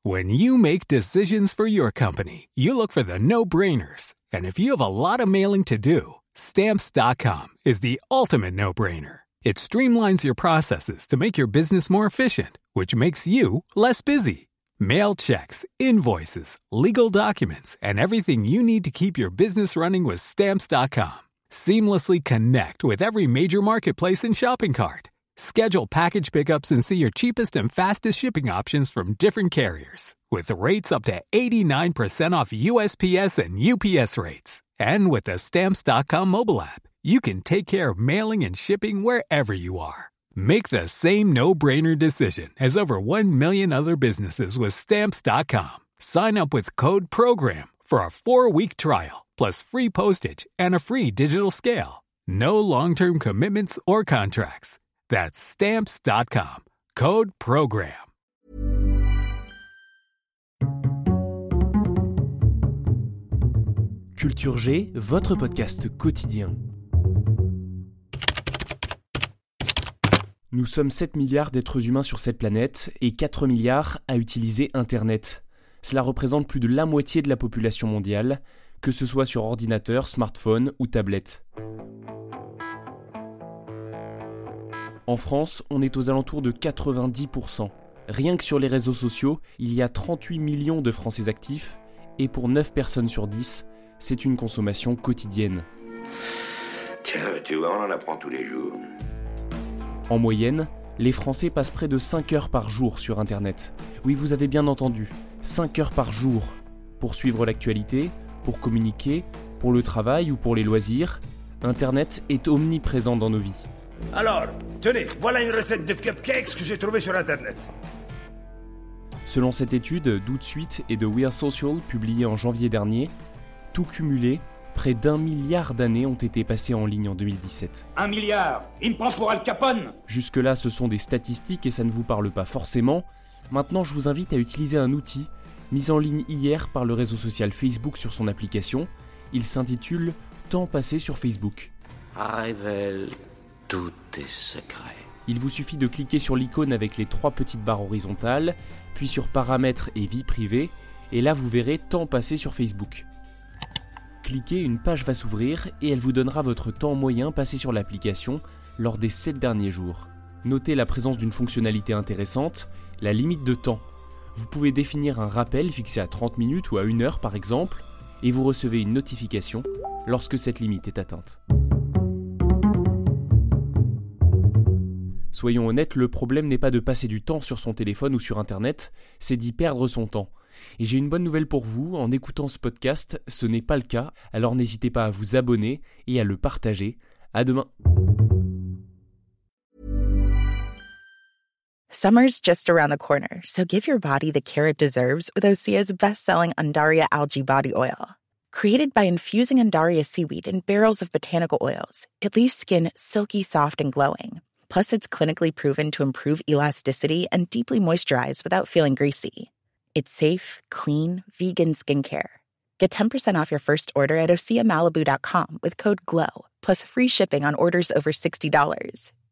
When you make decisions for your company, you look for the no-brainers. And if you have a lot of mailing to do, Stamps.com is the ultimate no-brainer. It streamlines your processes to make your business more efficient, which makes you less busy. Mail checks, invoices, legal documents, and everything you need to keep your business running with Stamps.com. Seamlessly connect with every major marketplace and shopping cart. Schedule package pickups and see your cheapest and fastest shipping options from different carriers. With rates up to 89% off USPS and UPS rates. And with the Stamps.com mobile app, you can take care of mailing and shipping wherever you are. Make the same no-brainer decision as over 1 million other businesses with Stamps.com. Sign up with code PROGRAM for a 4-week trial, plus free postage and a free digital scale. No long-term commitments or contracts. That's Stamps.com. Code PROGRAM. Culture G, votre podcast quotidien. Nous sommes 7 milliards d'êtres humains sur cette planète et 4 milliards à utiliser Internet. Cela représente plus de la moitié de la population mondiale, que ce soit sur ordinateur, smartphone ou tablette. En France, on est aux alentours de 90%. Rien que sur les réseaux sociaux, il y a 38 millions de Français actifs, et pour 9 personnes sur 10, c'est une consommation quotidienne. Tiens, tu vois, on en apprend tous les jours. En moyenne, les Français passent près de 5 heures par jour sur Internet. Oui, vous avez bien entendu, 5 heures par jour. Pour suivre l'actualité, pour communiquer, pour le travail ou pour les loisirs, Internet est omniprésent dans nos vies. Alors, tenez, voilà une recette de cupcakes que j'ai trouvée sur Internet. Selon cette étude d'Outsuite et de We're Social publiée en janvier dernier, tout cumulé, près d'1 milliard d'années ont été passées en ligne en 2017. 1 milliard, il me prend pour Al Capone. Jusque-là, ce sont des statistiques et ça ne vous parle pas forcément. Maintenant, je vous invite à utiliser un outil mis en ligne hier par le réseau social Facebook sur son application. Il s'intitule « Temps passé sur Facebook ». Révèle tous tes secrets. Il vous suffit de cliquer sur l'icône avec les 3 petites barres horizontales, puis sur Paramètres et Vie privée, et là vous verrez « Temps passé sur Facebook ». Cliquez, une page va s'ouvrir et elle vous donnera votre temps moyen passé sur l'application lors des 7 derniers jours. Notez la présence d'une fonctionnalité intéressante, la limite de temps. Vous pouvez définir un rappel fixé à 30 minutes ou à 1 heure par exemple, et vous recevez une notification lorsque cette limite est atteinte. Soyons honnêtes, le problème n'est pas de passer du temps sur son téléphone ou sur Internet, c'est d'y perdre son temps. Et j'ai une bonne nouvelle pour vous, en écoutant ce podcast, ce n'est pas le cas, alors n'hésitez pas à vous abonner et à le partager. À demain. Summer's just around the corner, so give your body the care it deserves with Osea's best-selling Undaria Algae Body Oil. Created by infusing Undaria seaweed in barrels of botanical oils, it leaves skin silky soft and glowing. Plus, it's clinically proven to improve elasticity and deeply moisturize without feeling greasy. It's safe, clean, vegan skincare. Get 10% off your first order at OseaMalibu.com with code GLOW, plus free shipping on orders over $60.